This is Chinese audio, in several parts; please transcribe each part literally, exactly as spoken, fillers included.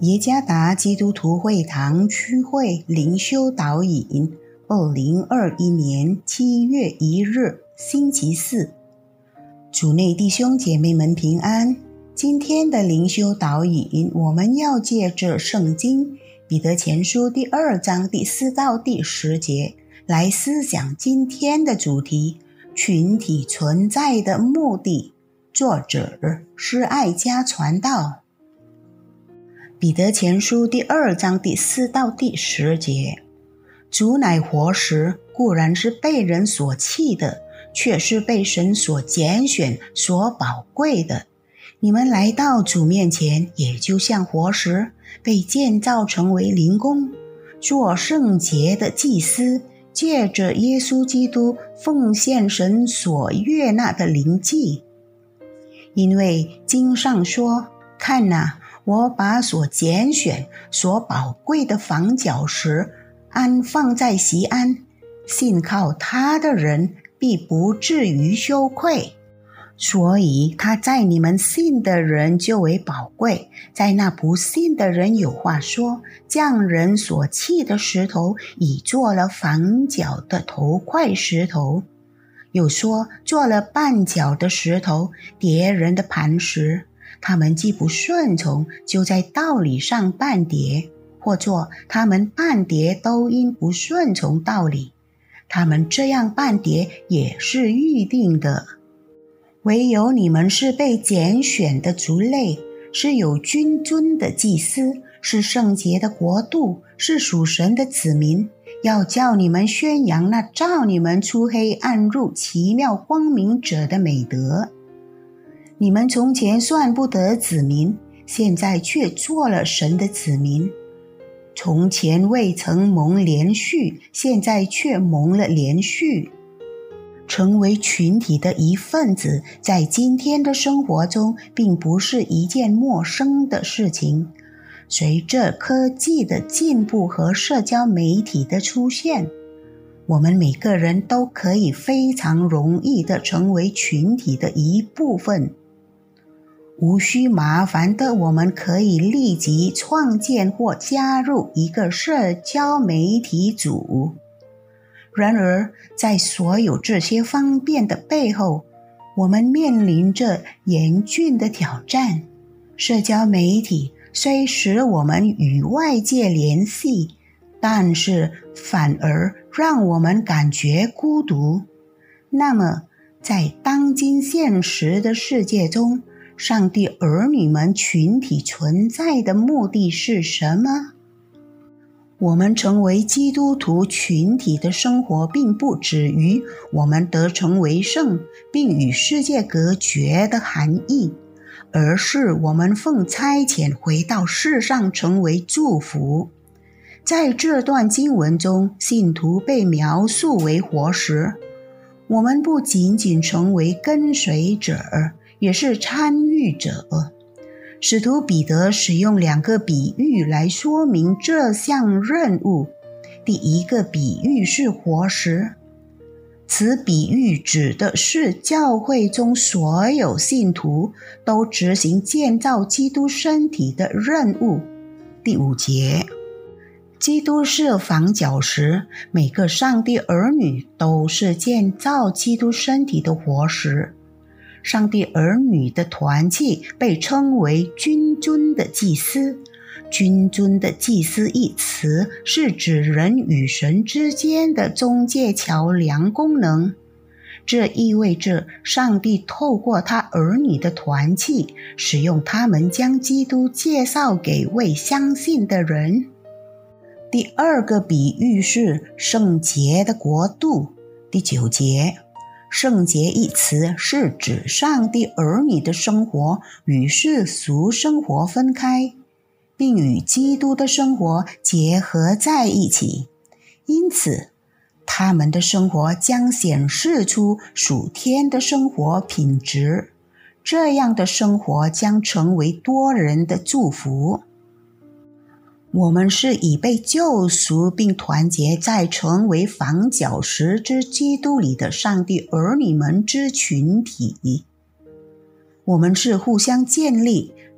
耶加达基督徒会堂区会灵修导引，二零二一年七月一日，星期四。主内弟兄姐妹们平安。今天的灵修导引，我们要借着圣经彼得前书第二章第四到第十节来思想今天的主题：群体存在的目的。作者是爱家传道。彼得前书第二章第四到第十节，主乃活石，固然是被人所弃的，却是被神所拣选、所宝贵的。你们来到主面前，也就像活石，被建造成为灵宫，做圣洁的祭司，借着耶稣基督奉献神所悦纳的灵祭。因为经上说：看哪，我把所拣选、所宝贵的房角石安放在锡安，信靠他的人必不至于羞愧。所以他在你们信的人就为宝贵，在那不信的人有话说：匠人所弃的石头，已做了房角的头块石头；又说做了绊脚的石头，跌人的磐石。他们既不顺从，就在道理上绊跌；或作他们绊跌都因不顺从道理，他们这样绊跌也是预定的。唯有你们是被拣选的族类，是有君尊的祭司，是圣洁的国度，是属神的子民，要叫你们宣扬那召你们出黑暗入奇妙光明者的美德。你们从前算不得子民，现在却做了神的子民；从前未曾蒙连续，现在却蒙了连续。成为群体的一份子，在今天的生活中并不是一件陌生的事情。随着科技的进步和社交媒体的出现，我们每个人都可以非常容易地成为群体的一部分。无需麻烦的，我们可以立即创建或加入一个社交媒体组。然而，在所有这些方便的背后，我们面临着严峻的挑战。社交媒体虽使我们与外界联系，但是反而让我们感觉孤独。那么，在当今现实的世界中，上帝儿女们群体存在的目的是什么？我们成为基督徒群体的生活，并不止于我们得成为圣，并与世界隔绝的含义，而是我们奉差遣回到世上成为祝福。在这段经文中，信徒被描述为活石。我们不仅仅成为跟随者，也是参与者。使徒彼得使用两个比喻来说明这项任务。第一个比喻是活石，此比喻指的是教会中所有信徒都执行建造基督身体的任务。第五节，基督是房角石，每个上帝儿女都是建造基督身体的活石。上帝儿女的团契被称为君尊的祭司。君尊的祭司一词是指人与神之间的中介桥梁功能。这意味着上帝透过他儿女的团契，使用他们将基督介绍给未相信的人。第二个比喻是圣洁的国度。第九节，圣洁一词是指上帝儿女的生活与世俗生活分开，并与基督的生活结合在一起。因此，他们的生活将显示出属天的生活品质。这样的生活将成为多人的祝福。我们是已被救赎并团结在成为房角石之基督里的上帝儿女们之群体。我们是互相建立、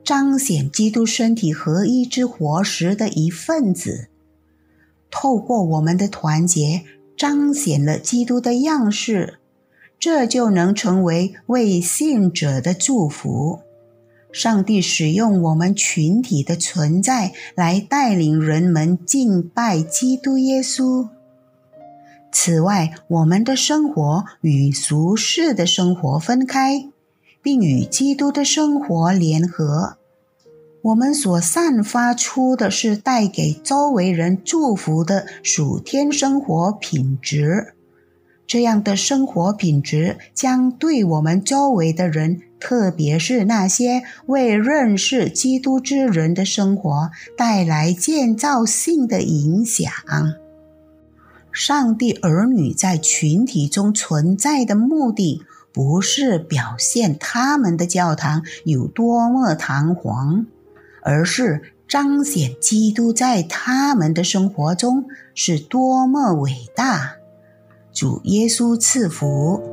彰显基督身体合一之活石的一份子。透过我们的团结，彰显了基督的样式，这就能成为为信者的祝福。上帝使用我们群体的存在来带领人们敬拜基督耶稣。此外，我们的生活与俗世的生活分开，并与基督的生活联合。我们所散发出的是带给周围人祝福的属天生活品质。这样的生活品质将对我们周围的人，特别是那些未认识基督之人的生活，带来建造性的影响。上帝儿女在群体中存在的目的，不是表现他们的教堂有多么堂皇，而是彰显基督在他们的生活中是多么伟大。主耶稣赐福。